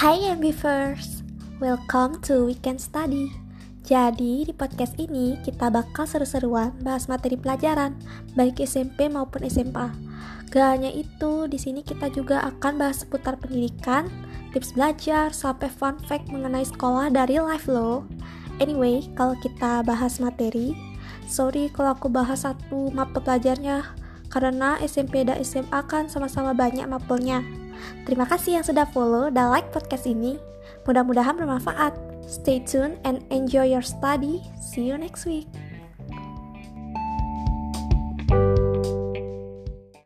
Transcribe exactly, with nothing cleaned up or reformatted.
Hai Ambivers, welcome to Weekend Study. Jadi di podcast ini kita bakal seru-seruan bahas materi pelajaran baik S M P maupun S M A. Gak hanya itu, di sini kita juga akan bahas seputar pendidikan, tips belajar, sampai fun fact mengenai sekolah dari live lo. Anyway, kalau kita bahas materi, sorry kalau aku bahas satu mapel pelajarnya, karena S M P dan S M A kan sama-sama banyak mapelnya. Terima kasih yang sudah follow dan like podcast ini. Mudah-mudahan bermanfaat. Stay tuned and enjoy your study. See you next week.